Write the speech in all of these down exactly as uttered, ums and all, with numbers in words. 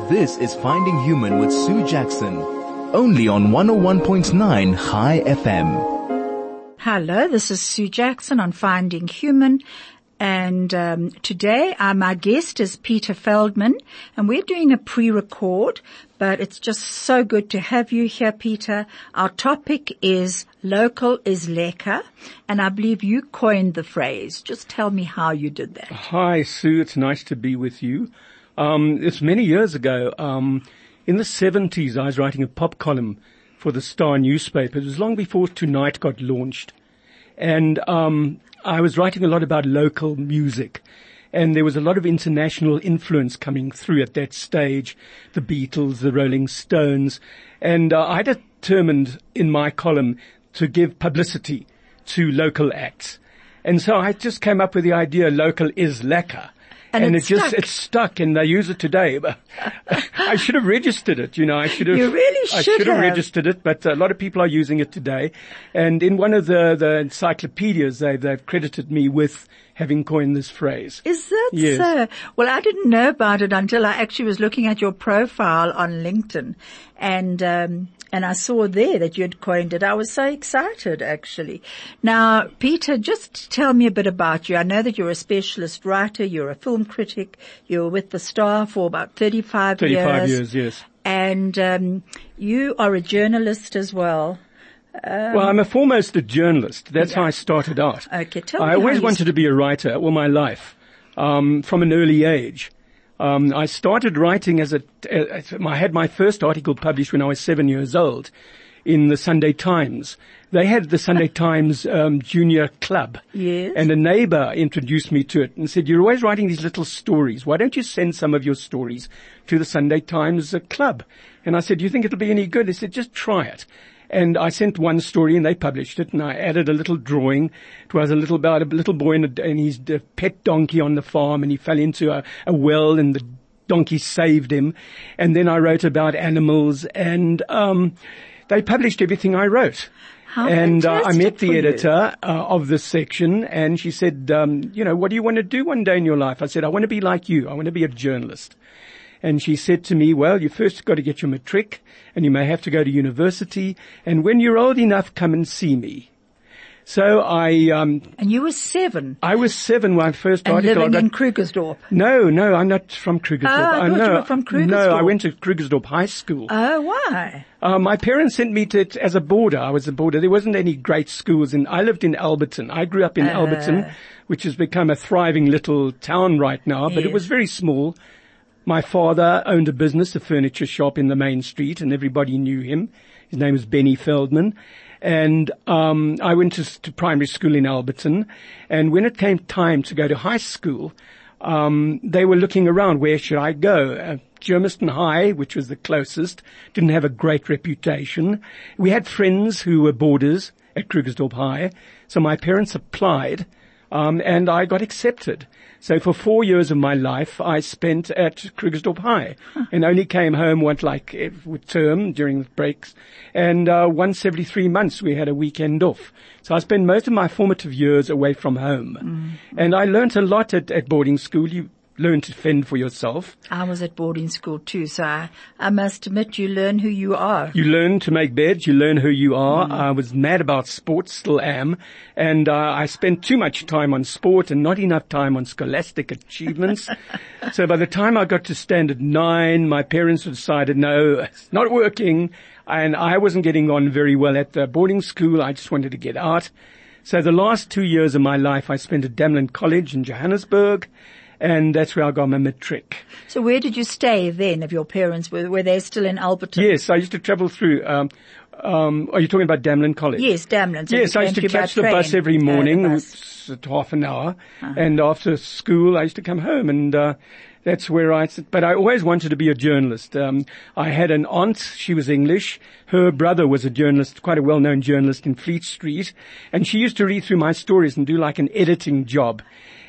This is Finding Human with Sue Jackson, only on one oh one point nine High F M. Hello, this is Sue Jackson on Finding Human, and um, today uh, my guest is Peter Feldman, and we're doing a pre-record, but it's just so good to have you here, Peter. Our topic is local is lekker, and I believe you coined the phrase. Just tell me how you did that. Hi, Sue. It's nice to be with you. Um, it's many years ago. Um, in the seventies, I was writing a pop column for the Star newspaper. It was long before Tonight got launched. And um, I was writing a lot about local music. And there was a lot of international influence coming through at that stage. The Beatles, the Rolling Stones. And uh, I determined in my column to give publicity to local acts. And so I just came up with the idea, local is lekker. And, and it it's just, stuck. it's stuck and they use it today. But I should have registered it, you know, I should have, You really I should should have have. registered it, but a lot of people are using it today. And in one of the, the encyclopedias, they, they've credited me with having coined this phrase. Is that Yes. so? Well, I didn't know about it until I actually was looking at your profile on LinkedIn, and um, and I saw there that you had coined it. I was so excited, actually. Now, Peter, just tell me a bit about you. I know that you're a specialist writer. You're a film critic. You were with the Star for about thirty-five, thirty-five years. years, yes. And um, you are a journalist as well. Um, Well, I'm a foremost a journalist. That's Yeah. how I started out. Okay, tell me I how always you wanted to be a writer all my life, um, from an early age. Um, I started writing as a, as I had my first article published when I was seven years old in the Sunday Times. They had the Sunday Times um, Junior Club. Yes. And a neighbor introduced me to it and said, you're always writing these little stories. Why don't you send some of your stories to the Sunday Times uh, Club? And I said, do you think it'll be any good? They said, just try it. And I sent one story and they published it, and I added a little drawing. It was a little about a little boy and, a, and his uh, pet donkey on the farm, and he fell into a, a well and the donkey saved him. And then I wrote about animals, and um they published everything I wrote. How and uh, I fantastic met for the you. editor uh, of this section, and she said, um, you know, what do you want to do one day in your life? I said, I want to be like you. I want to be a journalist. And she said to me, well, you first got to get your matric, and you may have to go to university, and when you're old enough, come and see me. So I, um, and you were seven I was seven when I first and article. living I got, in Krugersdorp. no, no, I'm not from Krugersdorp. Ah, I thought you know, were from No, I Krugersdorp. went to Krugersdorp High School. Oh, why? Uh, my parents sent me to as a boarder. I was a boarder. There wasn't any great schools in. I lived in Alberton. I grew up in Uh. Alberton, which has become a thriving little town right now. But Yes. it was very small. My father owned a business, a furniture shop in the main street, and everybody knew him. His name was Benny Feldman. And um I went to, to primary school in Alberton. And when it came time to go to high school, um they were looking around, where should I go? Uh, Germiston High, which was the closest, didn't have a great reputation. We had friends who were boarders at Krugersdorp High, so my parents applied, um, and I got accepted. So for four years of my life, I spent at Krugersdorp High, and only came home once, like every term during the breaks, and uh, once every three months we had a weekend off. So I spent most of my formative years away from home, mm-hmm. and I learnt a lot at, at boarding school. You learn to fend for yourself. I was at boarding school too, so I, I must admit you learn who you are. You learn to make beds. You learn who you are. Mm. I was mad about sports, still am. And uh, I spent too much time on sport and not enough time on scholastic achievements. So by the time I got to standard nine, my parents decided, no, it's not working. And I wasn't getting on very well at the boarding school. I just wanted to get out. So the last two years of my life I spent at Damlin College in Johannesburg. And that's where I got my matric. So where did you stay then, if your parents were, were they still in Alberton? Yes, I used to travel through, um, um, are you talking about Damlin College? Yes, Damlin. So yes, you I used came to through by catch the train. bus every Uh, the morning, bus. at half an hour. Uh-huh. And after school, I used to come home, and uh, that's where I, but I always wanted to be a journalist. Um, I had an aunt, she was English. Her brother was a journalist, quite a well-known journalist in Fleet Street. And she used to read through my stories and do like an editing job.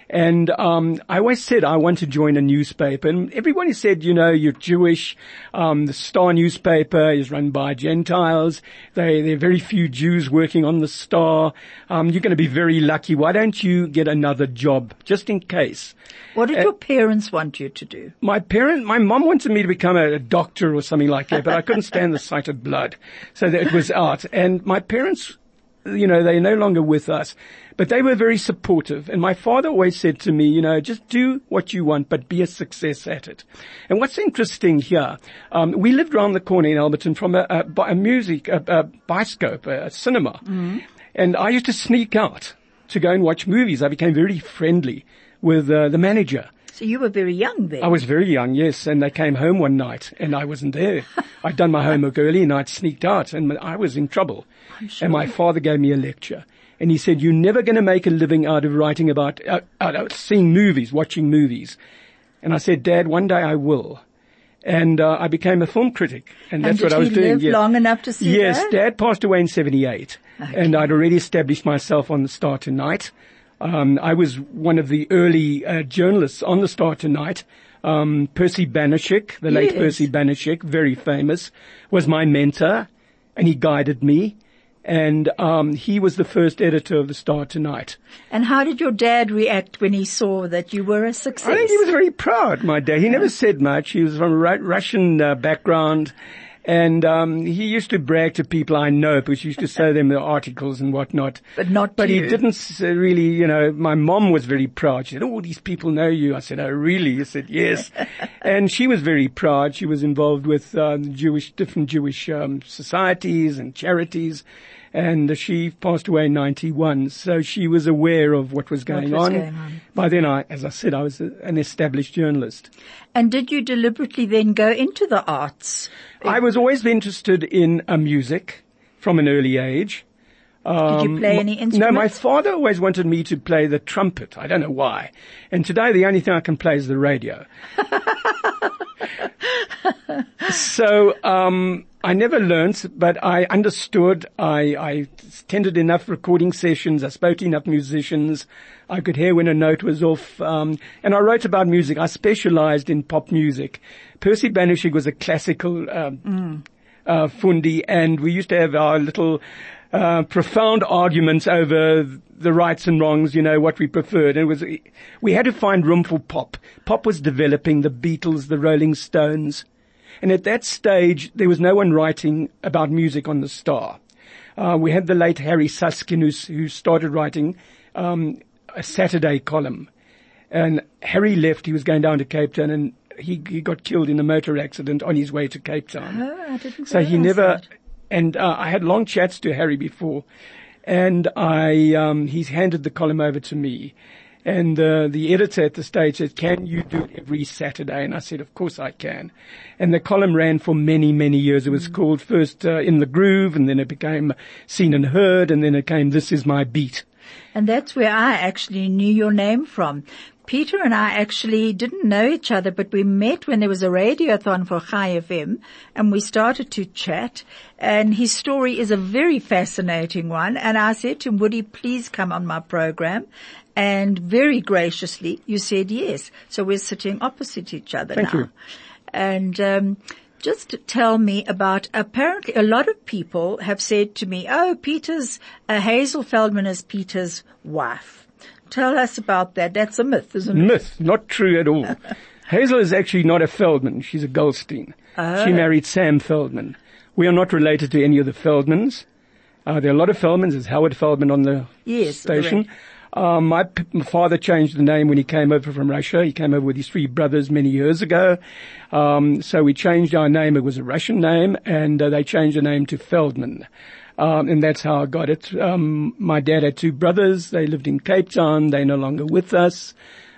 And um I always said I want to join a newspaper. And everybody said, you know, you're Jewish. Um The Star newspaper is run by Gentiles. They, there are very few Jews working on the Star. Um You're going to be very lucky. Why don't you get another job, just in case? What did uh, your parents want you to do? My parent, my mom wanted me to become a, a doctor or something like that, but I couldn't stand the sight of blood. So that it was art. And my parents, you know, they're no longer with us, but they were very supportive. And my father always said to me, you know, just do what you want, but be a success at it. And what's interesting here, um, we lived around the corner in Alberton from a, a, a music, a, a Biscope, a, a cinema. Mm-hmm. And I used to sneak out to go and watch movies. I became very friendly with uh, the manager. So you were very young then? I was very young, yes. And they came home one night and I wasn't there. I'd done my homework early and I'd sneaked out and I was in trouble. I'm sure. And my father gave me a lecture. And he said, you're never going to make a living out of writing about, uh, out of seeing movies, watching movies. And I said, Dad, one day I will. And uh, I became a film critic. And, and that's what I was doing. Did he live yes. long enough to see yes, that? Yes, Dad passed away in seventy-eight. Okay. And I'd already established myself on the Star Tonight. Um, I was one of the early uh, journalists on the Star Tonight. Um, Percy Banashek, the late yes. Percy Banashek, very famous, was my mentor, and he guided me. And um, he was the first editor of the Star Tonight. And how did your dad react when he saw that you were a success? I think he was very proud, my dad. He never said much. He was from a Ru- Russian uh, background. And um he used to brag to people I know, because he used to show them the articles and whatnot. But not But you. he didn't really, you know, my mom was very proud. She said, oh, these people know you. I said, oh, really? I said, yes. And she was very proud. She was involved with uh, Jewish, different Jewish um societies and charities. And she passed away in ninety-one, so she was aware of what was going, what was on. going on. By then, I, as I said, I was a, an established journalist. And did you deliberately then go into the arts? I was always interested in uh, music from an early age. Um, Did you play any instruments? No, my father always wanted me to play the trumpet. I don't know why. And today the only thing I can play is the radio. So, um, I never learnt, but I understood. I, I attended enough recording sessions. I spoke to enough musicians. I could hear when a note was off. Um, and I wrote about music. I specialized in pop music. Percy Banashek was a classical, um, mm. uh, fundi, and we used to have our little, uh, profound arguments over the rights and wrongs, you know, what we preferred. And it was, we had to find room for pop. Pop was developing, the Beatles, the Rolling Stones. And at that stage, there was no one writing about music on the Star. Uh, we had the late Harry Suskin, who, who started writing um, a Saturday column. And Harry left. He was going down to Cape Town, and he, he got killed in a motor accident on his way to Cape Town. Oh, I didn't so he never. That. And uh, I had long chats to Harry before, and I um, he's handed the column over to me. And uh, the editor at the stage said, can you do it every Saturday? And I said, of course I can. And the column ran for many, many years. It was mm. called first uh, In the Groove, and then it became Seen and Heard, and then it came This Is My Beat. And that's where I actually knew your name from. Peter and I actually didn't know each other, but we met when there was a radiothon for Chai F M, and we started to chat, and his story is a very fascinating one. And I said to him, would he please come on my program? And very graciously, you said yes. So we're sitting opposite each other Thank now. You. And um just tell me about, apparently a lot of people have said to me, oh, Peter's, uh, Hazel Feldman is Peter's wife. Tell us about that. That's a myth, isn't it? Myth, not true at all. Hazel is actually not a Feldman. She's a Goldstein. Oh. She married Sam Feldman. We are not related to any of the Feldmans. Uh, there are a lot of Feldmans. There's Howard Feldman on the yes, station. Correct. Um, my, p- my father changed the name when he came over from Russia. He came over with his three brothers many years ago. Um, so we changed our name. It was a Russian name, and uh, they changed the name to Feldman. Um, and that's how I got it. Um, my dad had two brothers. They lived in Cape Town. They're no longer with us.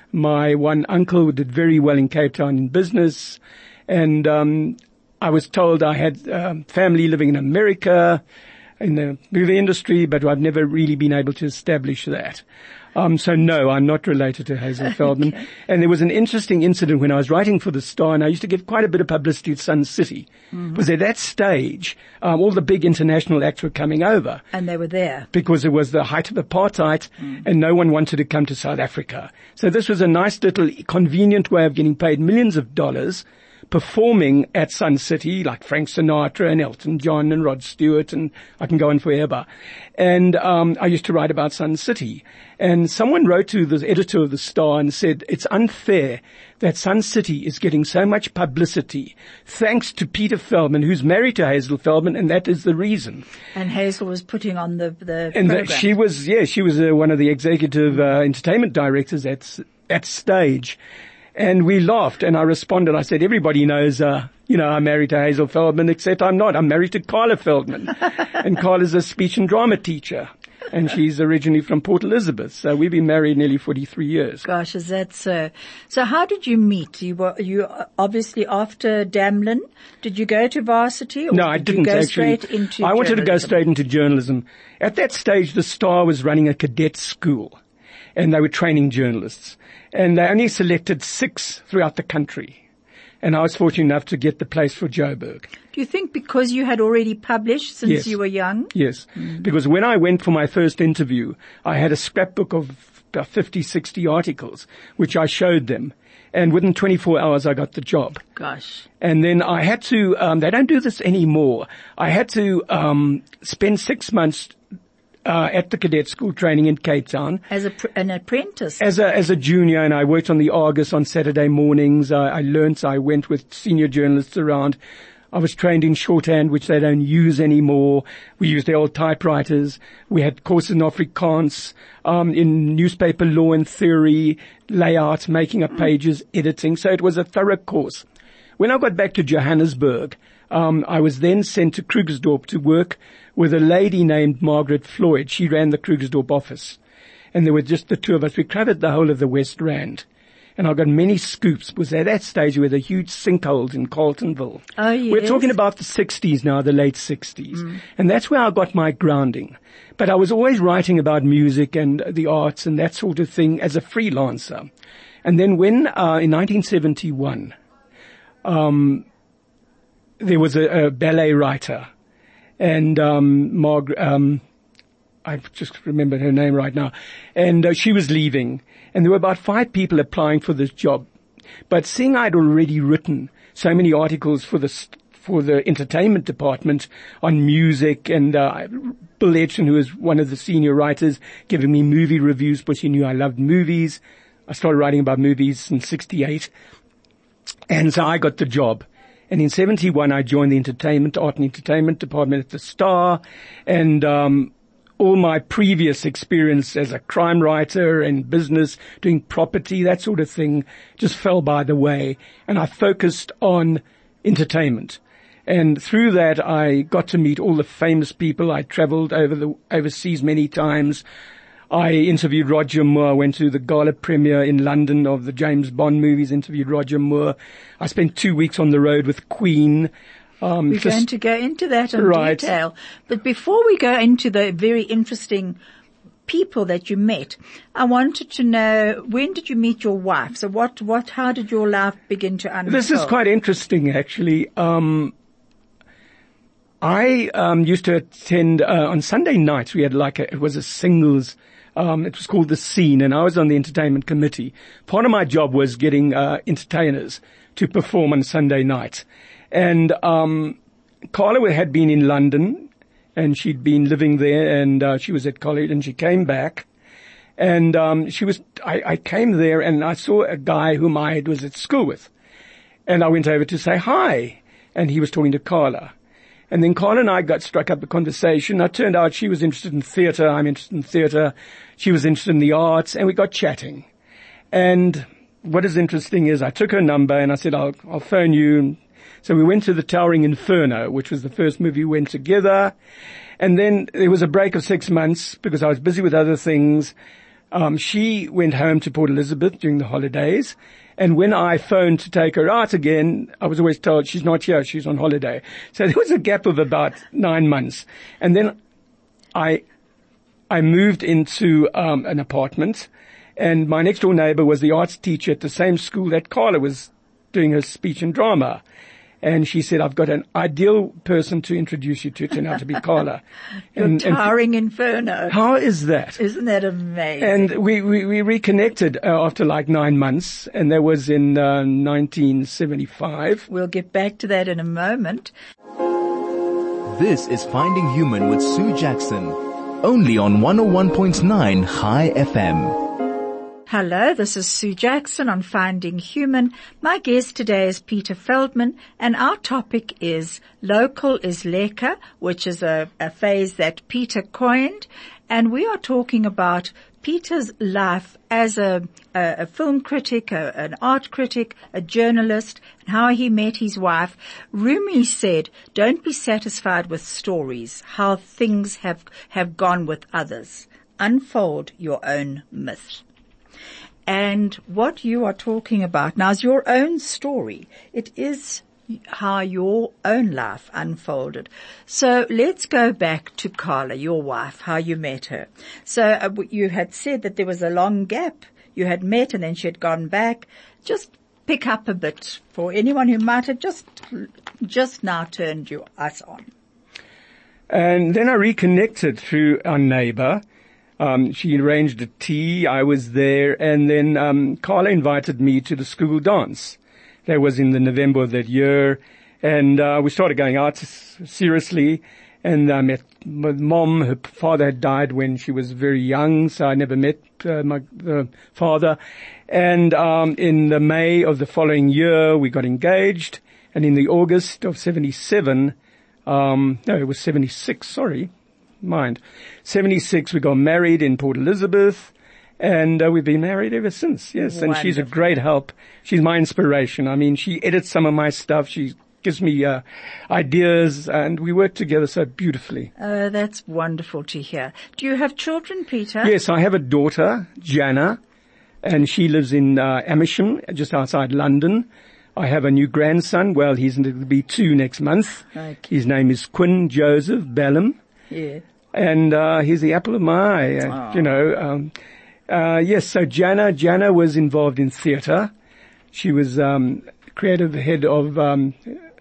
My one uncle did very well in Cape Town in business. And, um, I was told I had, um, family living in America, in the movie industry, but I've never really been able to establish that. Um, so no, I'm not related to Hazel Feldman. Okay. And there was an interesting incident when I was writing for the Star, and I used to give quite a bit of publicity at Sun City. Mm-hmm. Because at that stage, um, all the big international acts were coming over. And they were there. Because it was the height of apartheid, mm. and no one wanted to come to South Africa. So this was a nice little convenient way of getting paid millions of dollars performing at Sun City, like Frank Sinatra and Elton John and Rod Stewart, and I can go on forever. And um I used to write about Sun City. And someone wrote to the editor of the Star and said, it's unfair that Sun City is getting so much publicity thanks to Peter Feldman, who's married to Hazel Feldman, and that is the reason. And Hazel was putting on the, the and program. The, she was, yeah, she was uh, one of the executive uh, entertainment directors at, at Stage. And we laughed, and I responded. I said, everybody knows, uh, you know, I'm married to Hazel Feldman, except I'm not. I'm married to Carla Feldman. And Carla's a speech and drama teacher. And she's originally from Port Elizabeth. So we've been married nearly forty-three years. Gosh, is that so? So how did you meet? You were, you obviously after Damlin, did you go to varsity? Or no, I did didn't you go actually. Straight into I wanted journalism? to go straight into journalism. At that stage, the Star was running a cadet school, and they were training journalists. And they only selected six throughout the country. And I was fortunate enough to get the place for Joburg. Do you think because you had already published since yes. you were young? Yes. Mm. Because when I went for my first interview, I had a scrapbook of about fifty, sixty articles, which I showed them. And within twenty-four hours, I got the job. Gosh. And then I had to, um, they don't do this anymore. I had to, um, spend six months Uh, at the cadet school training in Cape Town. As a, an apprentice? As a, as a junior, and I worked on the Argus on Saturday mornings. I, I learnt, I went with senior journalists around. I was trained in shorthand, which they don't use anymore. We used the old typewriters. We had courses in Afrikaans, um, in newspaper law and theory, layout, making up pages, editing. So it was a thorough course. When I got back to Johannesburg, um, I was then sent to Krugersdorp to work with a lady named Margaret Floyd. She ran the Krugersdorp office. And there were just the two of us. We covered the whole of the West Rand. And I got many scoops, because at that stage we had a huge sinkhole in Carltonville. Oh, yes. We're talking about the sixties now, the late sixties. Mm. And that's where I got my grounding. But I was always writing about music and the arts and that sort of thing as a freelancer. And then when, uh, in nineteen seventy-one, um, there was a, a ballet writer. And, um, Marg, um, I just remembered her name right now. And uh, she was leaving. And there were about five people applying for this job. But seeing I'd already written so many articles for the, for the entertainment department on music, and, uh, Bill Edson, who was one of the senior writers, giving me movie reviews because he knew I loved movies. I started writing about movies in sixty-eight. And so I got the job. And in seventy-one, I joined the entertainment, art and entertainment department at the Star. And, um, all my previous experience as a crime writer and business, doing property, that sort of thing, just fell by the way. And I focused on entertainment. And through that, I got to meet all the famous people. I traveled over the, overseas many times. I interviewed Roger Moore. I went to the gala premiere in London of the James Bond movies, interviewed Roger Moore. I spent two weeks on the road with Queen. Um, We're just, going to go into that in right. detail. But before we go into the very interesting people that you met, I wanted to know, when did you meet your wife? So what, what, how did your life begin to unfold? This is quite interesting, actually. Um, I um, used to attend, uh, on Sunday nights, we had like a, it was a singles, um, it was called The Scene, and I was on the entertainment committee. Part of my job was getting uh, entertainers to perform on Sunday nights. And um Carla had been in London, and she'd been living there, and uh, she was at college, and she came back. And um she was, I, I came there, and I saw a guy whom I was at school with. And I went over to say hi, and he was talking to Carla. And then Carla and I got struck up a conversation. It turned out she was interested in theatre, I'm interested in theatre. She was interested in the arts, and we got chatting. And what is interesting is I took her number, and I said, I'll, I'll phone you. So we went to the Towering Inferno, which was the first movie we went together. And then there was a break of six months because I was busy with other things. Um, she went home to Port Elizabeth during the holidays. And when I phoned to take her out again, I was always told she's not here, she's on holiday. So there was a gap of about nine months. And then I I moved into um, an apartment, and my next door neighbor was the arts teacher at the same school that Carla was doing her speech and drama. And she said, I've got an ideal person to introduce you to. It turned out to be Carla. Your and, towering and inferno. How is that? Isn't that amazing? And we, we, we reconnected uh, after like nine months, and that was in uh, nineteen seventy-five. We'll get back to that in a moment. This is Finding Human with Sue Jackson, only on one oh one point nine High F M. Hello, this is Sue Jackson on Finding Human. My guest today is Peter Feldman, and our topic is Local is Lekker, which is a, a phrase that Peter coined, and we are talking about Peter's life as a, a, a film critic, a, an art critic, a journalist, and how he met his wife. Rumi said, don't be satisfied with stories, how things have, have gone with others. Unfold your own myth. And what you are talking about now is your own story. It is how your own life unfolded. So let's go back to Carla, your wife, how you met her. So uh, you had said that there was a long gap. You had met and then she had gone back. Just pick up a bit for anyone who might have just, just now turned you, us on. And then I reconnected through our neighbor. Um, she arranged a tea. I was there, and then um, Carla invited me to the school dance. That was in the November of that year, and uh, we started going out seriously. And I met my mom. Her father had died when she was very young, so I never met uh, my uh, father. And um, in the May of the following year, we got engaged, and in the August of seventy-seven, um, no, it was seventy-six. Sorry. Mind. seventy-six, we got married in Port Elizabeth, and uh, we've been married ever since, yes. Wonderful. And she's a great help. She's my inspiration. I mean, she edits some of my stuff. She gives me uh, ideas, and we work together so beautifully. Oh, that's wonderful to hear. Do you have children, Peter? Yes, I have a daughter, Jana, and she lives in uh, Amersham, just outside London. I have a new grandson. Well, he's going to be two next month. Okay. His name is Quinn Joseph Bellum. Yeah. And, uh, he's the apple of my eye, uh, you know, um, uh, yes, so Jana, Jana was involved in theatre. She was, um, creative head of, um,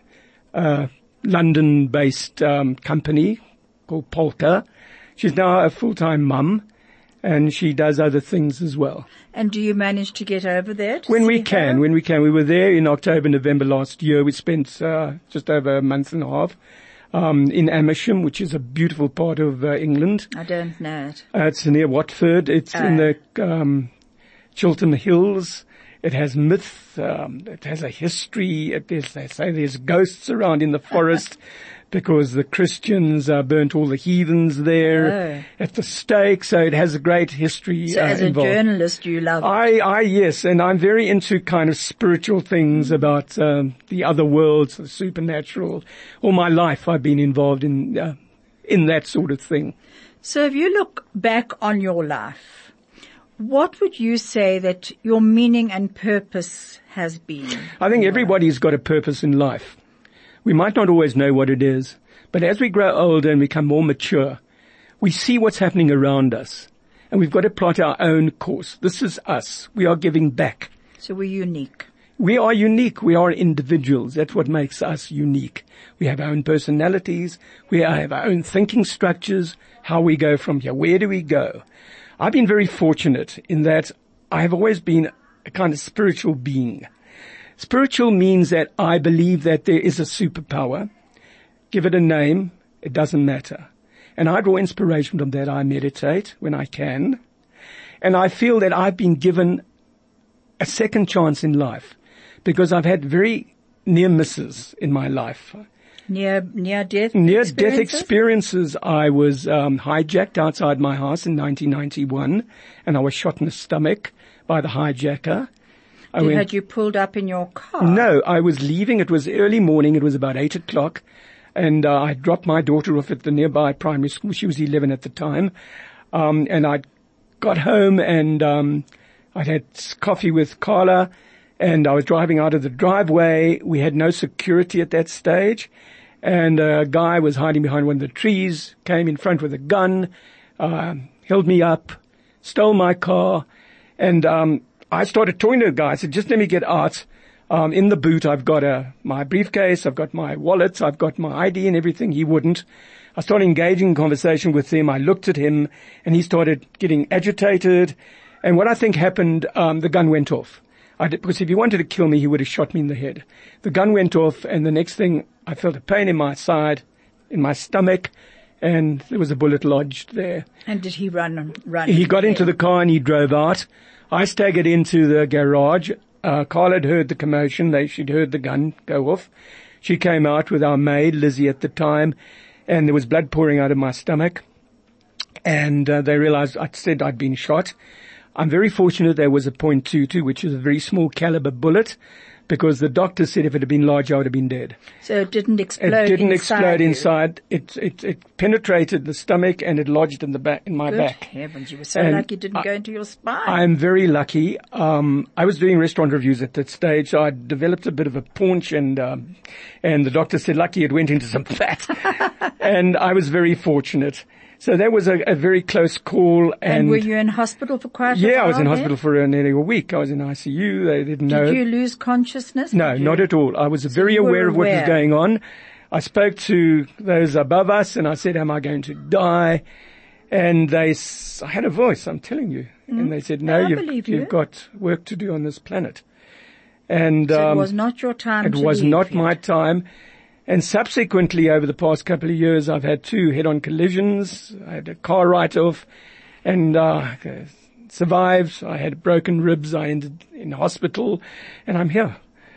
a London-based, um, company called Polka. She's now a full-time mum, and she does other things as well. And do you manage to get over there? When we can, her? when we can. We were there in October, November last year. We spent, uh, just over a month and a half. Um, in Amersham, which is a beautiful part of uh, England. I don't know it. Uh, it's near Watford. It's oh. in the um, Chiltern Hills. It has myth. Um, it has a history. It is, they say there's ghosts around in the forest because the Christians uh, burnt all the heathens there oh. at the stake. So it has a great history So uh, as involved. a journalist, you love it. I, I, yes, and I'm very into kind of spiritual things about um, the other worlds, the supernatural. All my life I've been involved in uh, in that sort of thing. So if you look back on your life, what would you say that your meaning and purpose has been? I think everybody's got a purpose in life. We might not always know what it is, but as we grow older and become more mature, we see what's happening around us, and we've got to plot our own course. This is us. We are giving back. So we're unique. We are unique. We are individuals. That's what makes us unique. We have our own personalities. We have our own thinking structures, how we go from here. Where do we go? I've been very fortunate in that I have always been a kind of spiritual being. Spiritual means that I believe that there is a superpower. Give it a name. It doesn't matter. And I draw inspiration from that. I meditate when I can. And I feel that I've been given a second chance in life because I've had very near misses in my life. Near, near death Near experiences? death experiences. I was um, hijacked outside my house in nineteen ninety-one, and I was shot in the stomach by the hijacker. I Did, went, had you pulled up in your car? No, I was leaving. It was early morning. It was about eight o'clock. And uh, I dropped my daughter off at the nearby primary school. She was eleven at the time. Um, and I got home and um, I had coffee with Carla. And I was driving out of the driveway. We had no security at that stage. And a guy was hiding behind one of the trees, came in front with a gun, uh, held me up, stole my car, and um I started talking to the guy. I said, just let me get out. Um in the boot I've got a my briefcase, I've got my wallet, I've got my I D and everything. He wouldn't. I started engaging in conversation with him. I looked at him, and he started getting agitated. And what I think happened, um the gun went off. I did, because if he wanted to kill me, he would have shot me in the head. The gun went off, and the next thing, I felt a pain in my side, in my stomach, and there was a bullet lodged there. And did he run? Run? He got into the car and he drove out. I staggered into the garage. Uh, Carl had heard the commotion. They, she'd heard the gun go off. She came out with our maid, Lizzie, at the time, and there was blood pouring out of my stomach. And uh, they realized I'd said I'd been shot. I'm very fortunate there was a point two two, which is a very small caliber bullet, because the doctor said if it had been large, I would have been dead. So it didn't explode It didn't inside explode you. inside. It, it, it penetrated the stomach and it lodged in the back, in my Good back. heavens, you were so And lucky it didn't I- go into your spine. I'm very lucky. Um, I was doing restaurant reviews at that stage, so I developed a bit of a paunch, and um, and the doctor said lucky it went into some fat, and I was very fortunate. So that was a, a very close call. And, and were you in hospital for quite a while? yeah, I was in then? hospital for nearly a week. I was in I C U. They didn't know. Did you lose consciousness? No, Did you? not at all. I was very you were aware of what was aware. going on. I spoke to those above us, and I said, am I going to die? And they, s- I had a voice, I'm telling you. Mm. And they said, no, I you've, believe you. you've got work to do on this planet. And So um, it was not your time it to was leave not yet. my time. And subsequently, over the past couple of years, I've had two head-on collisions. I had a car write-off, and uh, survived. I had broken ribs. I ended in hospital, and I'm here.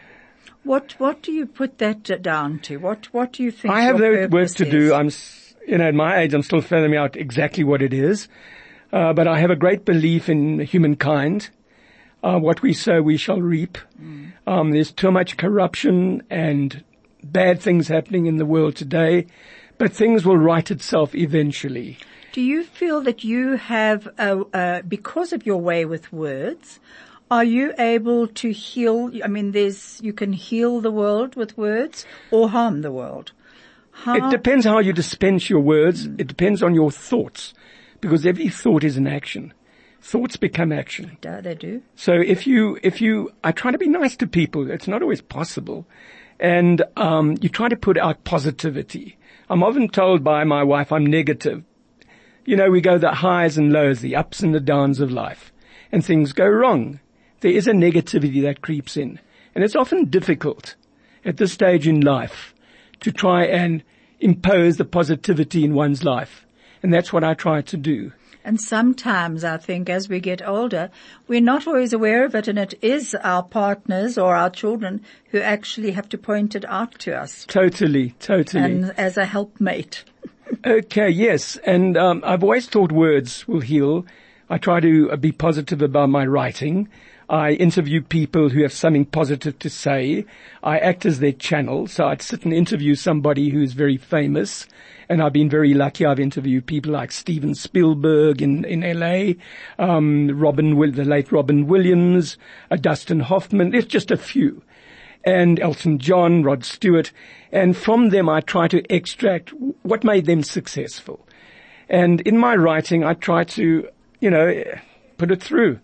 What What do you put that uh, down to? What What do you think? I have your no work purpose to is? do. I'm, s- you know, at my age, I'm still figuring out exactly what it is. Uh, but I have a great belief in humankind. Uh, what we sow, we shall reap. Mm. Um, there's too much corruption and bad things happening in the world today, but things will right itself eventually. Do you feel that you have, uh, uh, because of your way with words, are you able to heal? I mean, there's you can heal the world with words or harm the world. How, It depends how you dispense your words. It depends on your thoughts, because every thought is an action. Thoughts become action. Yeah, they do. So if you, if you, I try to be nice to people. It's not always possible. And, um, you try to put out positivity. I'm often told by my wife I'm negative. You know, we go the highs and lows, the ups and the downs of life, and things go wrong. There is a negativity that creeps in. And it's often difficult at this stage in life to try and impose the positivity in one's life. And that's what I try to do. And sometimes I think as we get older, we're not always aware of it, and it is our partners or our children who actually have to point it out to us. Totally, totally. And as a helpmate. Okay, yes. And um, I've always thought words will heal. I try to uh, be positive about my writing. I interview people who have something positive to say. I act as their channel. So I'd sit and interview somebody who's very famous. And I've been very lucky. I've interviewed people like Steven Spielberg in, in L A, um, Robin, Will, the late Robin Williams, uh, Dustin Hoffman. There's just a few. And Elton John, Rod Stewart. And from them I try to extract what made them successful. And in my writing I try to, you know, put it through.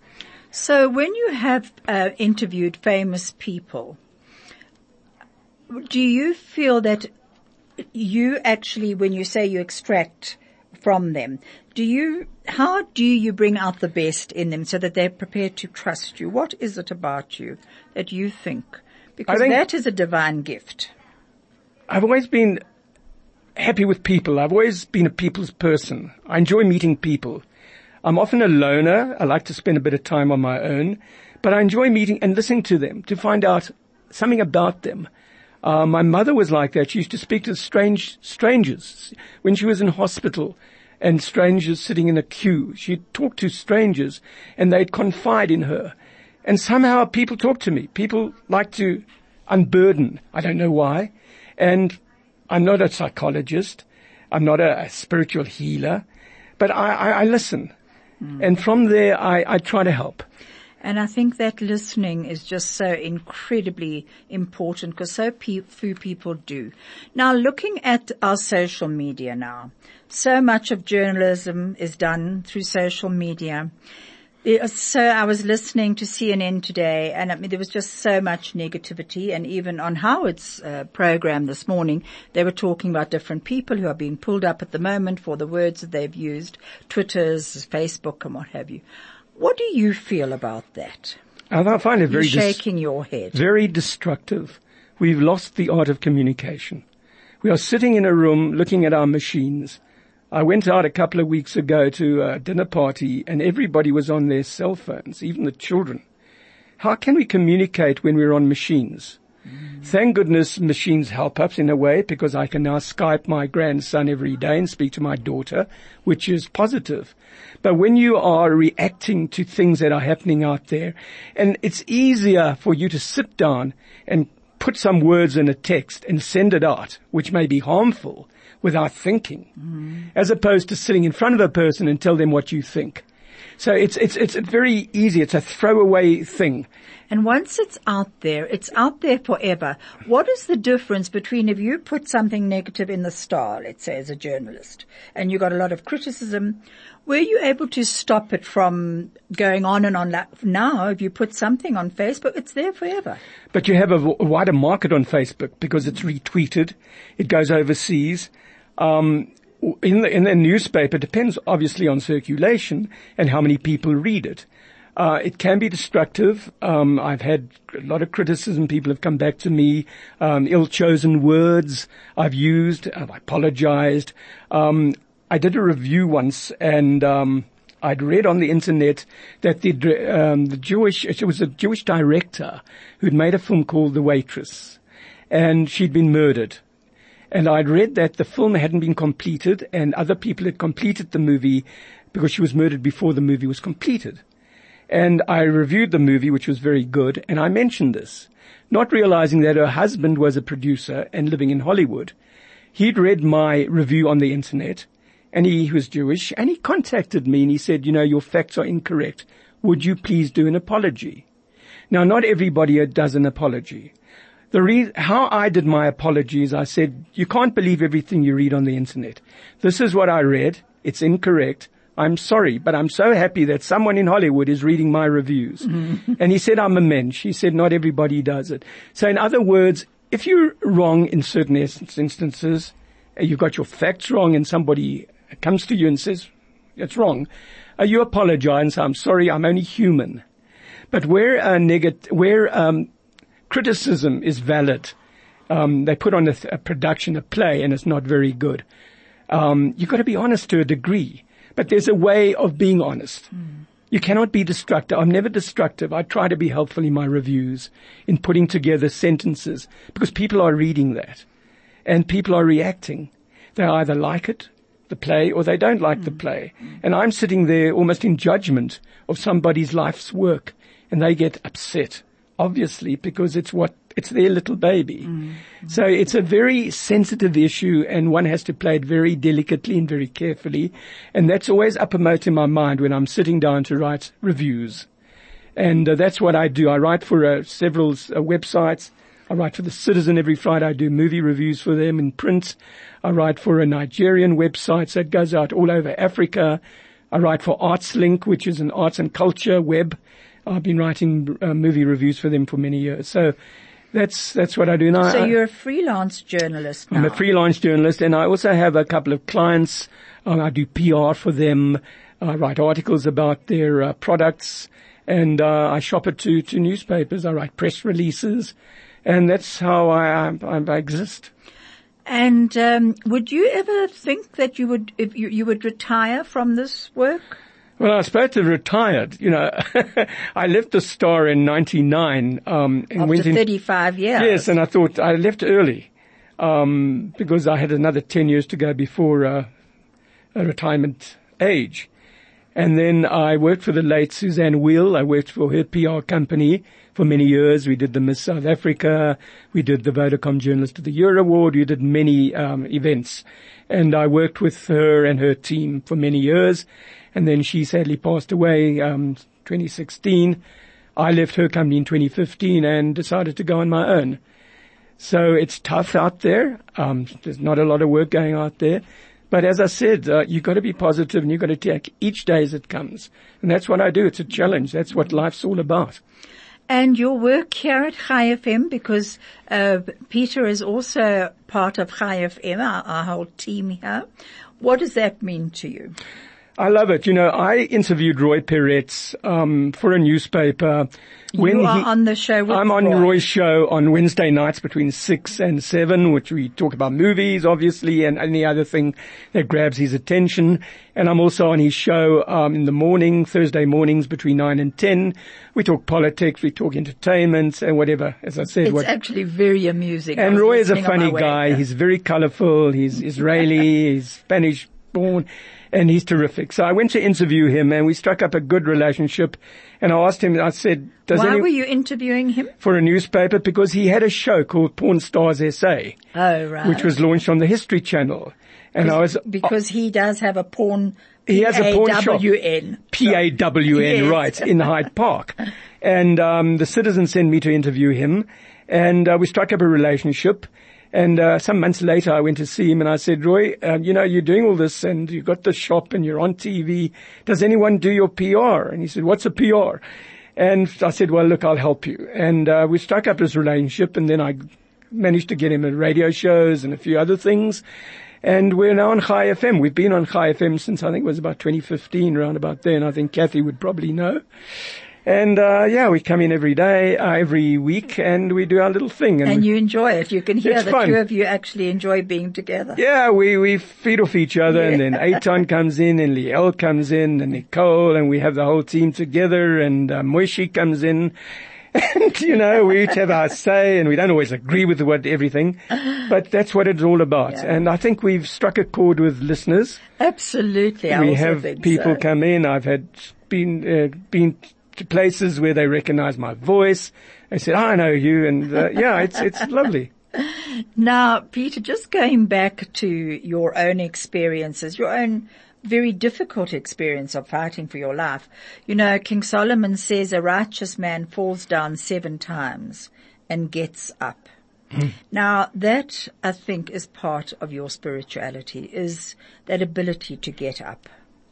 So when you have uh, interviewed famous people, do you feel that you actually, when you say you extract from them, do you, how do you bring out the best in them so that they're prepared to trust you? What is it about you that you think? Because think that is a divine gift. I've always been happy with people. I've always been a people's person. I enjoy meeting people. I'm often a loner. I like to spend a bit of time on my own, but I enjoy meeting and listening to them to find out something about them. Uh, my mother was like that. She used to speak to strange strangers when she was in hospital, and strangers sitting in a queue. She'd talk to strangers, and they'd confide in her. And somehow people talk to me. People like to unburden. I don't know why. And I'm not a psychologist. I'm not a, a spiritual healer. But I, I, I listen. Mm. And from there, I, I try to help. And I think that listening is just so incredibly important because so pe- few people do. Now, looking at our social media now, so much of journalism is done through social media. So I was listening to C N N today, and I mean, there was just so much negativity. And even on Howard's uh, program this morning, they were talking about different people who are being pulled up at the moment for the words that they've used, Twitter's, Facebook, and what have you. What do you feel about that? I find it very You're shaking dis- your head. Very destructive. We've lost the art of communication. We are sitting in a room looking at our machines. I went out a couple of weeks ago to a dinner party and everybody was on their cell phones, even the children. How can we communicate when we're on machines? Mm. Thank goodness machines help us in a way because I can now Skype my grandson every day and speak to my daughter, which is positive. But when you are reacting to things that are happening out there, and it's easier for you to sit down and put some words in a text and send it out, which may be harmful, without thinking, mm. as opposed to sitting in front of a person and tell them what you think. So it's, it's, it's very easy. It's a throwaway thing. And once it's out there, it's out there forever. What is the difference between if you put something negative in the Star, let's say as a journalist, and you got a lot of criticism, were you able to stop it from going on and on? Now, if you put something on Facebook, it's there forever. But you have a wider market on Facebook because it's retweeted. It goes overseas. Um, in the, in the newspaper, it depends obviously on circulation and how many people read it. Uh, it can be destructive. Um, I've had a lot of criticism. People have come back to me, um, ill-chosen words I've used. I've apologized. Um, I did a review once and, um, I'd read on the internet that the, um, the Jewish, it was a Jewish director who'd made a film called The Waitress and she'd been murdered. And I'd read that the film hadn't been completed and other people had completed the movie because she was murdered before the movie was completed. And I reviewed the movie, which was very good, and I mentioned this, not realizing that her husband was a producer and living in Hollywood. He'd read my review on the internet, and he was Jewish, and he contacted me and he said, you know, your facts are incorrect. Would you please do an apology? Now, not everybody does an apology. The re- how I did my apology is I said, you can't believe everything you read on the internet. This is what I read. It's incorrect. I'm sorry, but I'm so happy that someone in Hollywood is reading my reviews. Mm-hmm. And he said, I'm a mensch. He said, not everybody does it. So in other words, if you're wrong in certain instances, you've got your facts wrong and somebody comes to you and says, it's wrong, uh, you apologize and say, I'm sorry, I'm only human. But where uh, negat- where um, criticism is valid, um, they put on a, th- a production, a play, and it's not very good. Um, you've got to be honest to a degree. But there's a way of being honest. Mm. You cannot be destructive. I'm never destructive. I try to be helpful in my reviews, in putting together sentences, because people are reading that. And people are reacting. They either like it, the play, or they don't like mm. the play. Mm. And I'm sitting there almost in judgment of somebody's life's work. And they get upset, obviously, because it's what it's their little baby. Mm. So it's a very sensitive issue and one has to play it very delicately and very carefully. And that's always uppermost in my mind when I'm sitting down to write reviews. And uh, that's what I do. I write for uh, several uh, websites. I write for The Citizen every Friday. I do movie reviews for them in print. I write for a Nigerian website that goes out all over Africa. I write for ArtsLink, which is an arts and culture web. I've been writing uh, movie reviews for them for many years. So That's, that's what I do now. So you're a freelance journalist now? I'm a freelance journalist and I also have a couple of clients. Um, I do P R for them. I write articles about their uh, products and, uh, I shop it to, to newspapers. I write press releases and that's how I, I, I exist. And, um, would you ever think that you would, if you, you would retire from this work? Well, I was supposed to have retired. You know, I left the Star in ninety-nine. Um, and After went in, thirty-five years. Yes, and I thought I left early, um, because I had another ten years to go before, uh, a retirement age. And then I worked for the late Suzanne Wheel. I worked for her P R company for many years. We did the Miss South Africa. We did the Vodacom Journalist of the Year Award. We did many, um, events. And I worked with her and her team for many years. And then she sadly passed away, um, twenty sixteen. I left her company in twenty fifteen and decided to go on my own. So it's tough out there. Um, there's not a lot of work going out there. But as I said, uh, you've got to be positive and you've got to take each day as it comes. And that's what I do. It's a challenge. That's what life's all about. And your work here at Chai F M, because uh, Peter is also part of Chai F M, our, our whole team here. What does that mean to you? I love it. You know, I interviewed Roy Peretz um, for a newspaper. When you are he, on the show with I'm on Roy. Roy's show on Wednesday nights between six and seven, which we talk about movies, obviously, and any other thing that grabs his attention. And I'm also on his show um, in the morning, Thursday mornings between nine and ten. We talk politics, we talk entertainment, and whatever. As I said, it's what, actually very amusing. And Roy is a funny guy. Way. He's very colorful. He's Israeli. He's Spanish born. And he's terrific. So I went to interview him and we struck up a good relationship. And I asked him, I said, does Why any, were you interviewing him? For a newspaper, because he had a show called Porn Stars S A. Oh, right. Which was launched on the History Channel. And I was, because he does have a porn, he has a porn shop. P A W N. P A W N, yes. Right, in Hyde Park. And, um, the Citizen sent me to interview him and, uh, we struck up a relationship. And uh, some months later, I went to see him and I said, Roy, uh, you know, you're doing all this and you've got the shop and you're on T V. Does anyone do your P R? And he said, what's a P R? And I said, well, look, I'll help you. And uh, we struck up this relationship and then I managed to get him at radio shows and a few other things. And we're now on Chai F M. We've been on Chai F M since I think it was about twenty fifteen, around about then. I think Kathy would probably know. And, uh, yeah, we come in every day, uh, every week, and we do our little thing. And, and you enjoy it. You can hear the fun. two of you actually enjoy being together. Yeah, we, we feed off each other, yeah. And then Eitan comes in, and Liel comes in, and Nicole, and we have the whole team together, and uh, Moishi comes in. And, you know, we each have our say, and we don't always agree with what everything, but that's what it's all about. Yeah. And I think we've struck a chord with listeners. Absolutely. I we also have think people so. come in. I've had been, uh, been, to places where they recognize my voice. They said, oh, I know you. And, uh, yeah, it's, it's lovely. Now, Peter, just going back to your own experiences, your own very difficult experience of fighting for your life. You know, King Solomon says a righteous man falls down seven times and gets up. Now, that, I think, is part of your spirituality, is that ability to get up.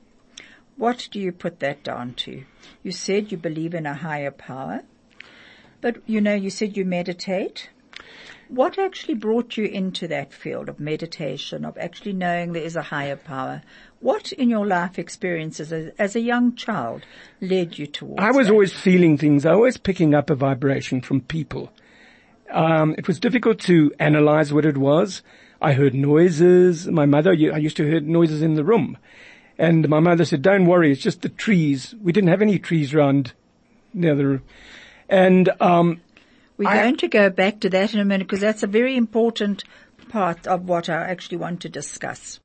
What do you put that down to? You said you believe in a higher power, but, you know, you said you meditate. What actually brought you into that field of meditation, of actually knowing there is a higher power? What in your life experiences as, as a young child led you towards I was that? always feeling things. I was always picking up a vibration from people. Um, it was difficult to analyze what it was. I heard noises. My mother, I used to hear noises in the room. And my mother said, don't worry, it's just the trees. We didn't have any trees around near the room. And, um, we're I, going to go back to that in a minute because that's a very important part of what I actually want to discuss.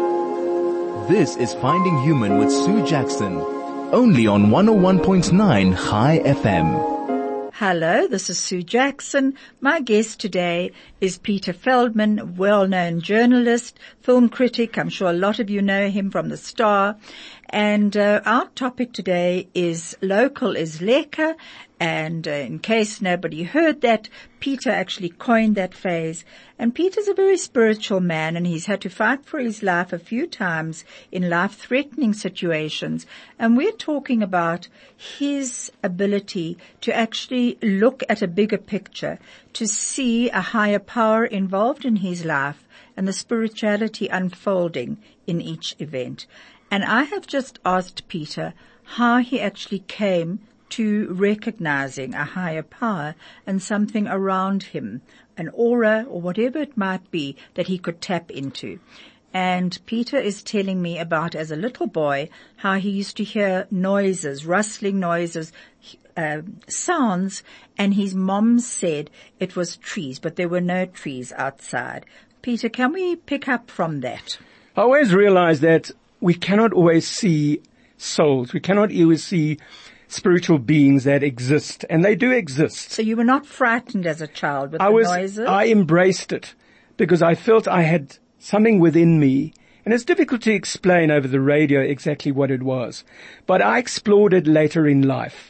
This is Finding Human with Sue Jackson, only on one oh one point nine Chai F M. Hello, this is Sue Jackson. My guest today is Peter Feldman, well-known journalist, film critic. I'm sure a lot of you know him from The Star. And uh, our topic today is local is lekker. And uh, in case nobody heard that, Peter actually coined that phrase. And Peter's a very spiritual man, and he's had to fight for his life a few times in life-threatening situations. And we're talking about his ability to actually look at a bigger picture, to see a higher power involved in his life and the spirituality unfolding in each event. And I have just asked Peter how he actually came to recognizing a higher power and something around him, an aura or whatever it might be that he could tap into. And Peter is telling me about, as a little boy, how he used to hear noises, rustling noises, uh, sounds, and his mom said it was trees, but there were no trees outside. Peter, can we pick up from that? I always realize that we cannot always see souls. We cannot always see spiritual beings that exist, and they do exist. So you were not frightened as a child with I the was, noises? I embraced it because I felt I had something within me, and it's difficult to explain over the radio exactly what it was, but I explored it later in life.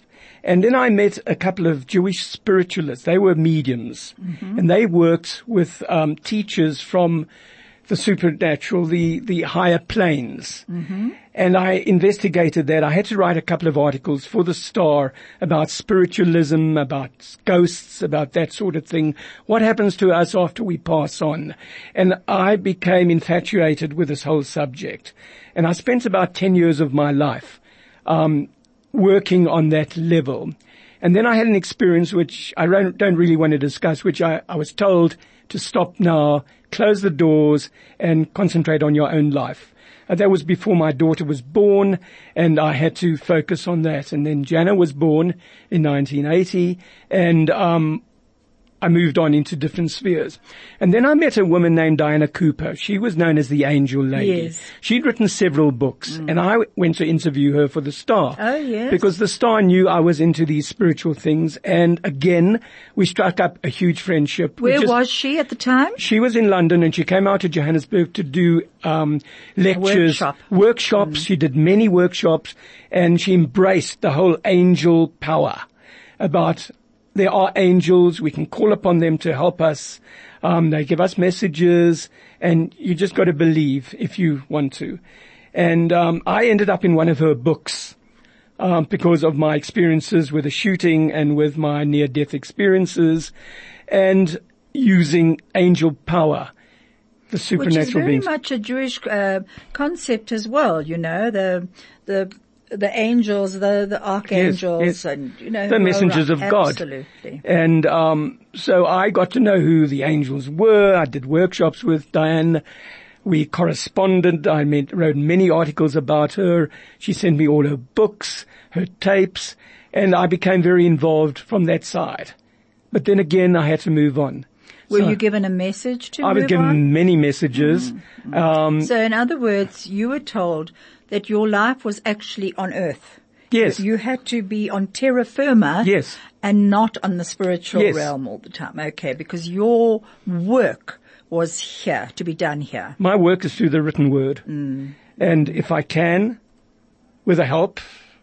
And then I met a couple of Jewish spiritualists. They were mediums, mm-hmm. and they worked with um, teachers from the supernatural, the, the higher planes. Mm-hmm. And I investigated that. I had to write a couple of articles for the Star about spiritualism, about ghosts, about that sort of thing. What happens to us after we pass on? And I became infatuated with this whole subject. And I spent about ten years of my life um working on that level. And then I had an experience which I don't really want to discuss, which I, I was told to stop now, close the doors, and concentrate on your own life. Uh, that was before my daughter was born, and I had to focus on that. And then Jana was born in nineteen eighty, and um I moved on into different spheres. And then I met a woman named Diana Cooper. She was known as the Angel Lady. Yes. She'd written several books, mm. and I went to interview her for the Star. Oh, yes. Because the Star knew I was into these spiritual things, and again, we struck up a huge friendship. Where just, was she at the time? She was in London, and she came out to Johannesburg to do um lectures, workshop. workshops. Mm. She did many workshops, and she embraced the whole angel power about there are angels. We can call upon them to help us. Um, they give us messages, and you just got to believe if you want to. And um, I ended up in one of her books um, because of my experiences with the shooting and with my near-death experiences, and using angel power, the supernatural Which is very beings. much a Jewish uh, concept as well. You know, the the. The angels, the, the archangels, yes, yes. and, you know, the messengers of God. Absolutely. And, um, so I got to know who the angels were. I did workshops with Diane. We corresponded. I made, wrote many articles about her. She sent me all her books, her tapes, and I became very involved from that side. But then again, I had to move on. Were so you given a message to I move was given on? many messages. Mm-hmm. Um, so in other words, you were told that your life was actually on earth. Yes. You had to be on terra firma. Yes. And not on the spiritual Yes. realm all the time. Okay, because your work was here, to be done here. My work is through the written word. Mm. And if I can, with the help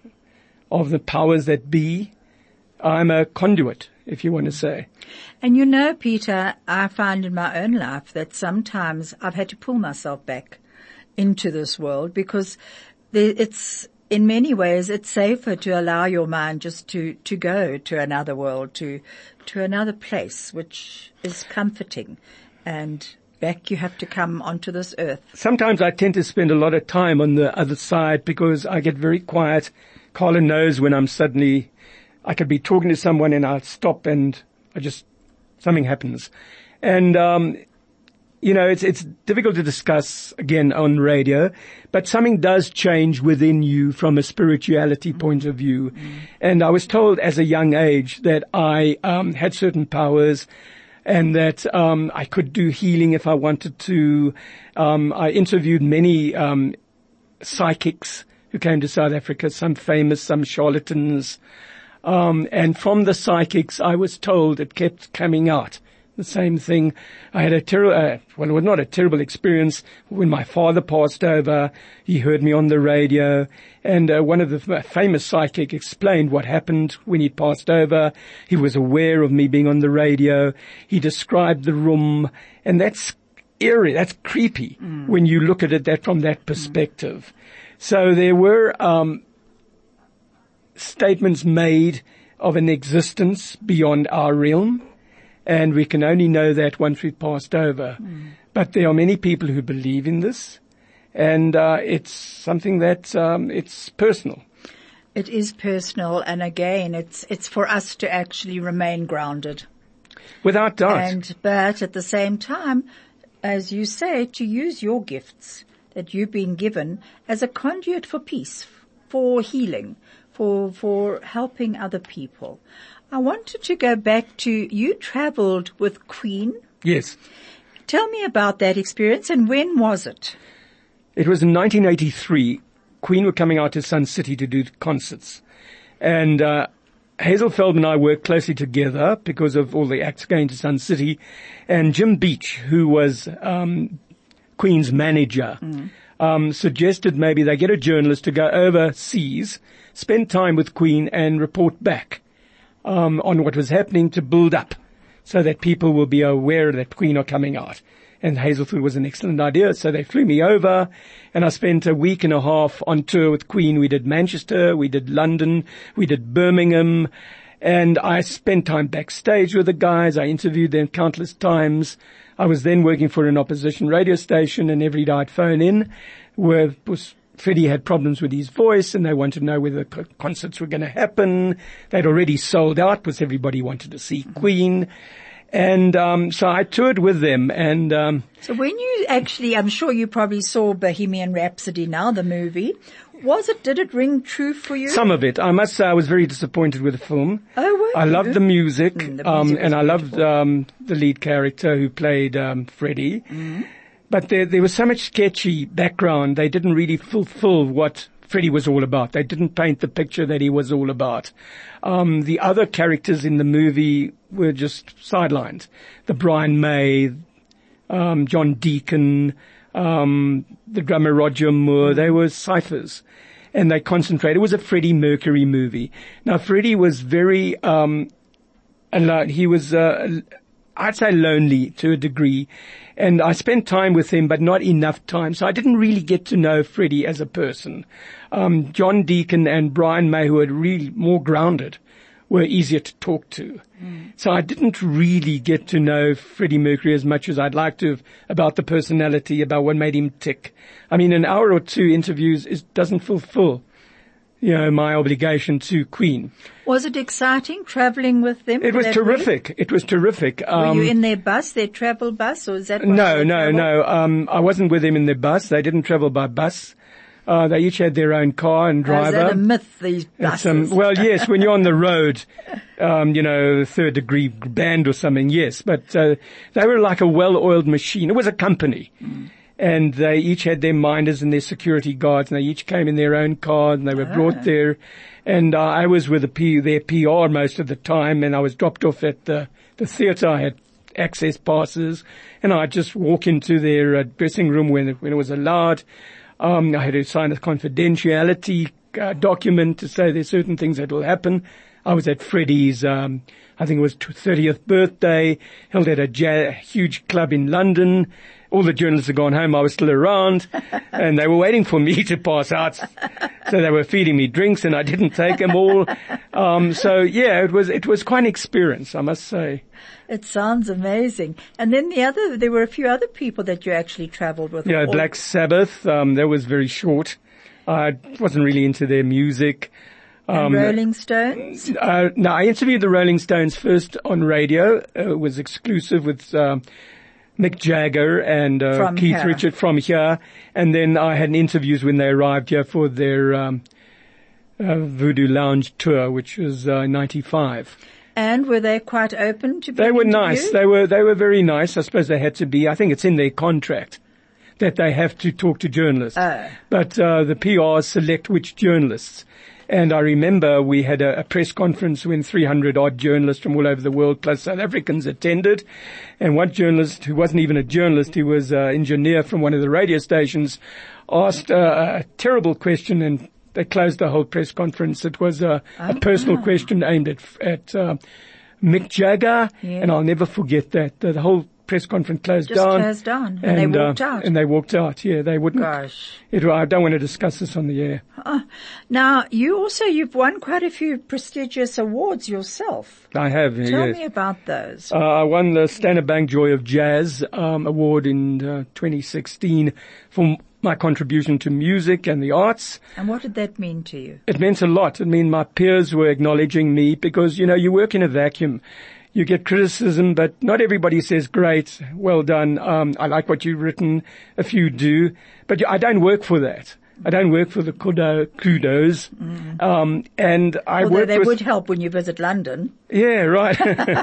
of the powers that be, I'm a conduit, if you want to say. And you know, Peter, I find in my own life that sometimes I've had to pull myself back into this world because it's, in many ways, it's safer to allow your mind just to, to go to another world, to, to another place, which is comforting. And back you have to come onto this earth. Sometimes I tend to spend a lot of time on the other side because I get very quiet. Carla knows when I'm suddenly, I could be talking to someone and I'll stop and I just, something happens. And, um, you know, it's, it's difficult to discuss again on radio, but something does change within you from a spirituality mm-hmm. point of view. Mm-hmm. And I was told as a young age that I, um, had certain powers and that, um, I could do healing if I wanted to. Um, I interviewed many, um, psychics who came to South Africa, some famous, some charlatans. Um, and from the psychics, I was told it kept coming out. The same thing. I had a terrible, uh, well, it was not a terrible experience when my father passed over. He heard me on the radio, and uh, one of the f- famous psychic explained what happened when he passed over. He was aware of me being on the radio. He described the room, and that's eerie. That's creepy mm. when you look at it that from that perspective. Mm. So there were um, statements made of an existence beyond our realm. And we can only know that once we've passed over. Mm. But there are many people who believe in this, and uh, it's something that um, it's personal. It is personal, and again, it's it's for us to actually remain grounded. Without doubt. And but at the same time, as you say, to use your gifts that you've been given as a conduit for peace, for healing, for for helping other people. I wanted to go back to, you traveled with Queen. Yes. Tell me about that experience, and when was it? It was in nineteen eighty-three. Queen were coming out to Sun City to do concerts. And uh Hazel Feldman and I worked closely together because of all the acts going to Sun City. And Jim Beach, who was um Queen's manager, mm. um, suggested maybe they get a journalist to go overseas, spend time with Queen and report back um, on what was happening to build up so that people will be aware that Queen are coming out. And Hazelwood was an excellent idea, so they flew me over, and I spent a week and a half on tour with Queen. We did Manchester, we did London, we did Birmingham, and I spent time backstage with the guys. I interviewed them countless times. I was then working for an opposition radio station, and every day I'd phone in where was Freddie had problems with his voice, and they wanted to know whether the concerts were going to happen. They'd already sold out because everybody wanted to see Queen. And um so I toured with them, and um So when you actually, I'm sure you probably saw Bohemian Rhapsody now, the movie. Was it, did it ring true for you? some of it. I must say I was very disappointed with the film. Oh, were I you? loved the music, Mm, the um music was and I loved beautiful. um the lead character who played um Freddie. Mm-hmm. But there there was so much sketchy background. They didn't really fulfill what Freddie was all about. They didn't paint the picture that he was all about. Um, the other characters in the movie were just sidelined. The Brian May, um, John Deacon, um, the drummer Roger Moore, they were ciphers. And they concentrated. It was a Freddie Mercury movie. Now, Freddie was very, um, alone. He was, uh, I'd say lonely to a degree. And I spent time with him, but not enough time. So I didn't really get to know Freddie as a person. Um, John Deacon and Brian May, who were really more grounded, were easier to talk to. Mm. So I didn't really get to know Freddie Mercury as much as I'd like to have about the personality, about what made him tick. I mean, an hour or two interviews is, doesn't fulfill, you know, my obligation to Queen. Was it exciting traveling with them? It for was that terrific. week? It was terrific. Were you in their bus, their travel bus, or is that what No, they no, travel? no. Um, I wasn't with them in their bus. They didn't travel by bus. Uh, they each had their own car and Oh, driver. is that a myth, these It's, buses? um, well, yes, when you're on the road, um, you know, third degree band or something, yes. But uh, they were like a well-oiled machine. It was a company. Mm. And they each had their minders and their security guards, and they each came in their own car, and they were Ah. brought there. And uh, I was with the P, their P R most of the time, and I was dropped off at the, the theatre. I had access passes, and I'd just walk into their uh, dressing room when it, when it was allowed. Um, I had to sign a confidentiality uh, document to say there's certain things that will happen. I was at Freddie's, um, I think it was thirtieth birthday, held at a ja- huge club in London. All the journalists had gone home. I was still around, and they were waiting for me to pass out. So they were feeding me drinks, and I didn't take them all. Um, so yeah, it was it was quite an experience, I must say. It sounds amazing. And then the other, there were a few other people that you actually traveled with. Yeah, Or- Black Sabbath. Um, that was very short. I wasn't really into their music. and Um, Rolling Stones. Uh, no, I interviewed the Rolling Stones first on radio. Uh, it was exclusive with um, Mick Jagger and uh, From Keith here. Richards from here. And then I had interviews when they arrived here for their um, uh, Voodoo Lounge tour, which was uh, ninety-five. And were they quite open to being They were interviewed? nice. They were they were very nice. I suppose they had to be. I think it's in their contract that they have to talk to journalists. Oh. But uh, the P Rs select which journalists. And I remember we had a, a press conference when three hundred odd journalists from all over the world, plus South Africans, attended. And one journalist, who wasn't even a journalist, he was an engineer from one of the radio stations, asked uh, a terrible question, and they closed the whole press conference. It was a, a personal question aimed at at uh, Mick Jagger, Yeah. and I'll never forget that. The, the whole press conference closed Just down. closed down, and they walked uh, out. And they walked out, yeah, they wouldn't. Gosh. It, I don't want to discuss this on the air. Now, you also, you've won quite a few prestigious awards yourself. I have, Tell yes. me about those. Uh, I won the Standard Bank Joy of Jazz um, award in uh, twenty sixteen for my contribution to music and the arts. And what did that mean to you? It meant a lot. I mean, my peers were acknowledging me because, you know, you work in a vacuum. You get criticism, but not everybody says, great, well done, um, I like what you've written. A few do. But I don't work for that. I don't work for the kudo, kudos. Mm. Um, and I Although work they with... would help when you visit London. Yeah, right.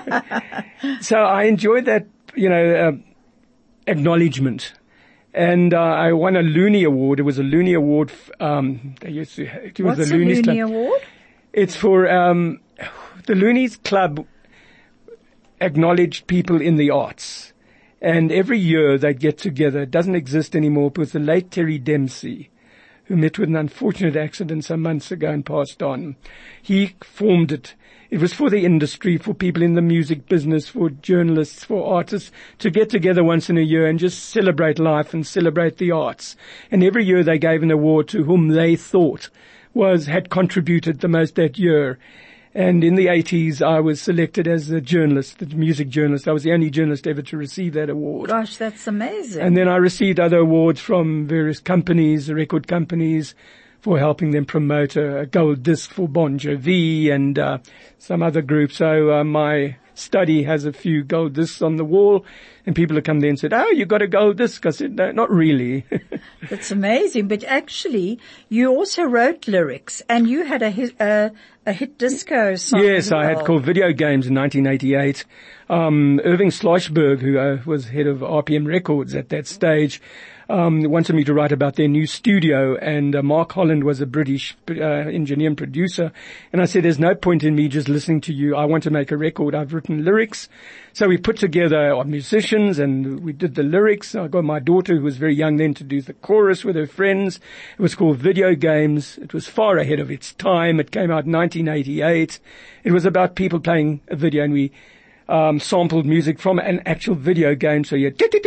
So I enjoyed that, you know, uh, acknowledgement. And uh, I won a Looney Award. It was a Looney Award. F- um, they used to, it was What's the a Looney's Looney Club. Award? It's for um, the Looney's Club acknowledged people in the arts. And every year they'd get together. It doesn't exist anymore. It was the late Terry Dempsey, who met with an unfortunate accident some months ago and passed on. He formed it. It was for the industry, for people in the music business, for journalists, for artists, to get together once in a year and just celebrate life and celebrate the arts. And every year they gave an award to whom they thought was, had contributed the most that year. And in the eighties, I was selected as a journalist, the music journalist. I was the only journalist ever to receive that award. Gosh, that's amazing. And then I received other awards from various companies, record companies, for helping them promote a, a gold disc for Bon Jovi and uh, some other group. So uh, my study has a few gold discs on the wall, and people have come there and said, "Oh, you got a gold disc?" I said, "No, not really." That's amazing. But actually, you also wrote lyrics, and you had a hit, uh, a hit disco song. Yes, as well. I had called Video Games in nineteen eighty-eight. Um, Irving Schlossberg, who uh, was head of R P M Records at that stage, um, wanted me to write about their new studio, and uh, Mark Holland was a British uh, engineer and producer. And I said, "There's no point in me just listening to you. I want to make a record. I've written lyrics." So we put together our musicians and we did the lyrics. I got my daughter, who was very young then, to do the chorus with her friends. It was called Video Games. It was far ahead of its time. It came out in nineteen eighty-eight. It was about people playing a video, and we um sampled music from an actual video game. So you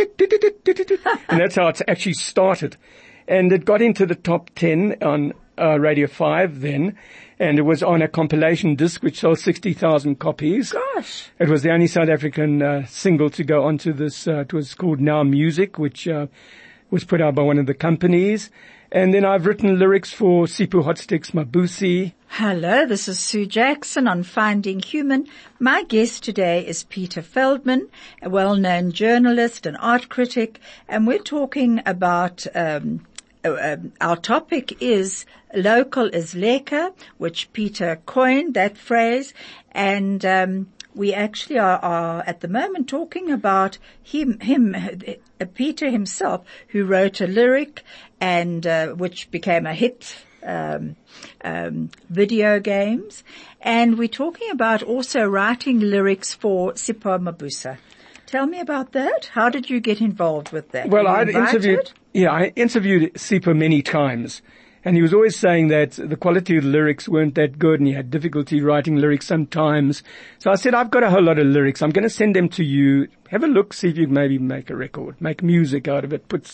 and that's how it actually started. And it got into the top ten on uh, Radio five then. And it was on a compilation disc which sold sixty thousand copies. Gosh. It was the only South African uh, single to go onto this. Uh, it was called Now Music, which uh, was put out by one of the companies. And then I've written lyrics for Sipho Hotsticks Mabusi. Hello, this is Sue Jackson on Finding Human. My guest today is Peter Feldman, a well-known journalist and art critic, and we're talking about um Uh, our topic is local is lekker, which Peter coined, that phrase, and um, we actually are, are at the moment talking about him, him, uh, Peter himself, who wrote a lyric and uh, which became a hit. Um, um, video games, and we're talking about also writing lyrics for Sipho Mabusi. Tell me about that. How did you get involved with that? Well, I interviewed, yeah, I interviewed Sipho many times, and he was always saying that the quality of the lyrics weren't that good, and he had difficulty writing lyrics sometimes. So I said, I've got a whole lot of lyrics. I'm going to send them to you. Have a look, see if you can maybe make a record, make music out of it, put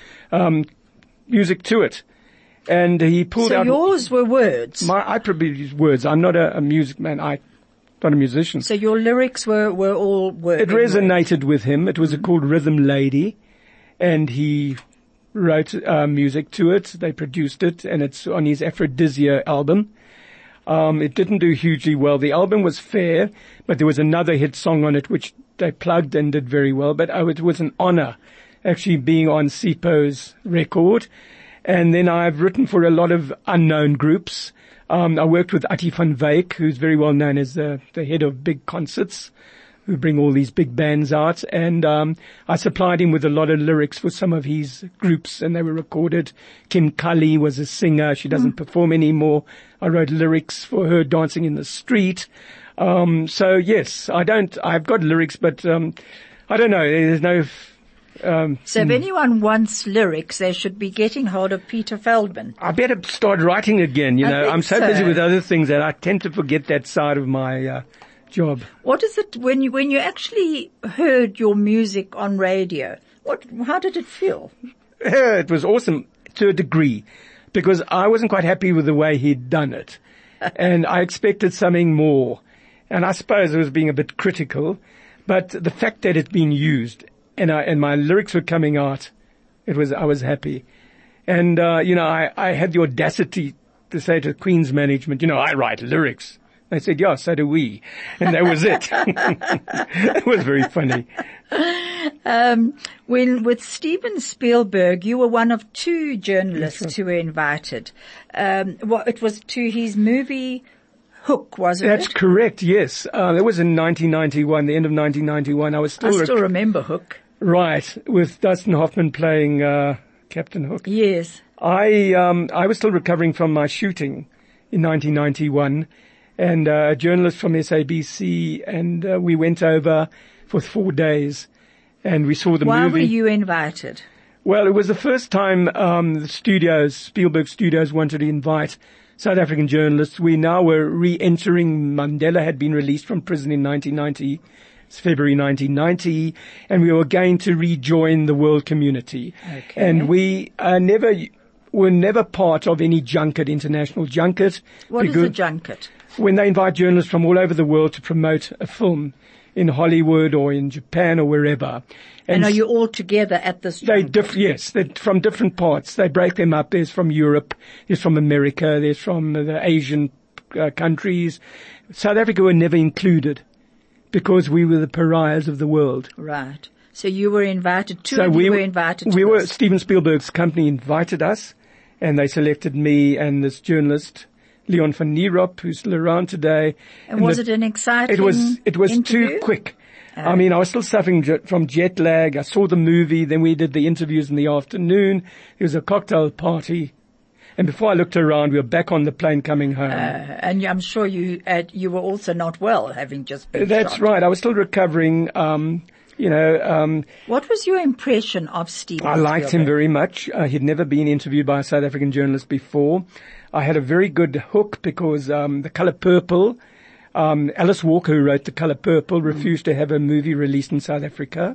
um, music to it. And he pulled so out. So yours were words. My, I probably use words. I'm not a, a music man. I. Not a musician. So your lyrics were, were all words. It resonated with him. It was mm-hmm. called Rhythm Lady, and he wrote uh, music to it. They produced it, and it's on his Aphrodisia album. Um, it didn't do hugely well. The album was fair, but there was another hit song on it which they plugged and did very well. But oh, it was an honor actually being on Sipho's record. And then I've written for a lot of unknown groups. Um, I worked with Ati van Wyk, who's very well known as the, the head of big concerts, who bring all these big bands out. And um, I supplied him with a lot of lyrics for some of his groups, and they were recorded. Kim Cully was a singer. She doesn't mm. perform anymore. I wrote lyrics for her dancing in the street. Um, so, yes, I don't, I've got lyrics, but um, I don't know. There's no... Um, so if anyone wants lyrics, they should be getting hold of Peter Feldman. I better start writing again, you I know. I'm so, so busy with other things that I tend to forget that side of my uh, job. What is it when you when you actually heard your music on radio? What how did it feel? It was awesome to a degree, because I wasn't quite happy with the way he'd done it. And I expected something more. And I suppose I was being a bit critical, but the fact that it'd been used and I, and my lyrics were coming out, it was, I was happy. And, uh, you know, I, I had the audacity to say to Queen's management, you know, I write lyrics. They said, yeah, so do we. And that was it. It was very funny. Um, when, with Steven Spielberg, you were one of two journalists right. who were invited. Um, well, it was to his movie Hook, wasn't That's it? That's correct, yes. Uh, that was in nineteen ninety-one, the end of nineteen ninety-one. I was still... I still rec- remember Hook. Right, with Dustin Hoffman playing, uh, Captain Hook. Yes. I, um, I was still recovering from my shooting in nineteen ninety-one, and uh, a journalist from S A B C, and uh, we went over for four days. and we saw the Why movie. were you invited? Well, it was the first time um, the studios, Spielberg Studios, wanted to invite South African journalists. We now were re-entering. Mandela had been released from prison in nineteen ninety. It's February nineteen ninety, and we were going to rejoin the world community. Okay. And we uh, never were never part of any junket, international junket. What is a junket? When they invite journalists from all over the world to promote a film in Hollywood or in Japan or wherever. And, and are you all together at this They junket? diff- yes, they're from different parts. They break them up. There's from Europe, there's from America, there's from the Asian uh, countries. South Africa were never included because we were the pariahs of the world. Right. So you were invited, two so of we you were invited to We were, this. Steven Spielberg's company invited us, and they selected me and this journalist, Leon van Nierop, who's still around today. And, and was the, it an exciting It was, it was interview? too quick. I mean, I was still suffering j- from jet lag. I saw the movie, then we did the interviews in the afternoon. There was a cocktail party. And before I looked around, we were back on the plane coming home. Uh, and I'm sure you uh, you were also not well, having just been That's shot. right. I was still recovering. Um, you know, um, What was your impression of Steven I liked him Spielberg? very much. Uh, he'd never been interviewed by a South African journalist before. I had a very good hook because um, The Color Purple, um, Alice Walker, who wrote The Color Purple, refused to have a movie released in South Africa.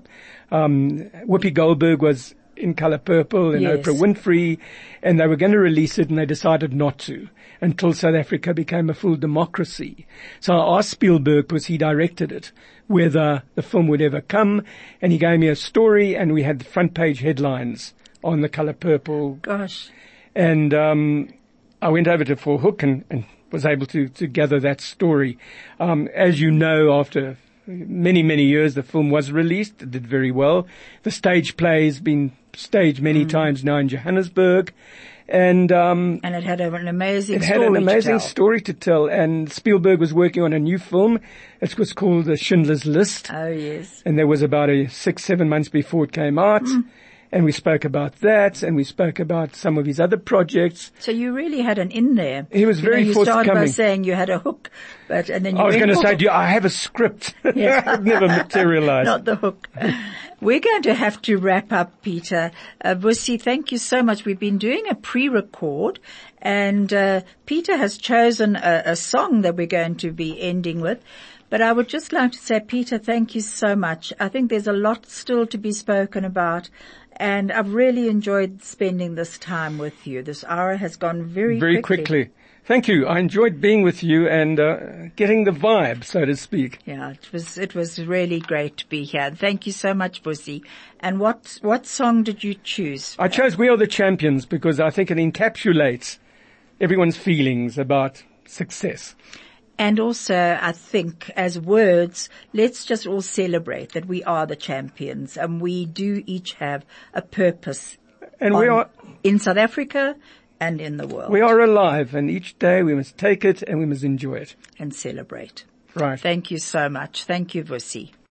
Um, Whoopi Goldberg was in Color Purple and Yes. Oprah Winfrey, and they were going to release it, and they decided not to until South Africa became a full democracy. So I asked Spielberg, because he directed it, whether the film would ever come, and he gave me a story, and we had the front page headlines on The Color Purple. Gosh. And um, I went over to For Hook and, and was able to, to gather that story. Um, as you know, after many, many years, the film was released. It did very well. The stage play has been staged many mm. times now in Johannesburg. And um, And it had an amazing it story had an amazing to tell. story to tell. And Spielberg was working on a new film. It was called The Schindler's List. Oh, yes. And there was about a six, seven months before it came out. Mm. And we spoke about that, and we spoke about some of his other projects. So you really had an in there. He was very you know, you forthcoming. started by saying you had a hook, but and then you I was went going to for- say, do you, I have a script. Yes. It never materialized. Not the hook. We're going to have to wrap up, Peter. Uh, Busi, thank you so much. We've been doing a pre-record, and uh, Peter has chosen a, a song that we're going to be ending with. But I would just like to say, Peter, thank you so much. I think there's a lot still to be spoken about. And I've really enjoyed spending this time with you. This hour has gone very, Very quickly. quickly. Thank you. I enjoyed being with you and uh, getting the vibe, so to speak. Yeah, it was it was really great to be here. Thank you so much, Busi. And what what song did you choose? I chose We Are the Champions because I think it encapsulates everyone's feelings about success. And also, I think, as words, let's just all celebrate that we are the champions and we do each have a purpose And we on- are in South Africa and in the world. we are alive, and each day we must take it and we must enjoy it. And celebrate. Right. Thank you so much. Thank you, Vusi.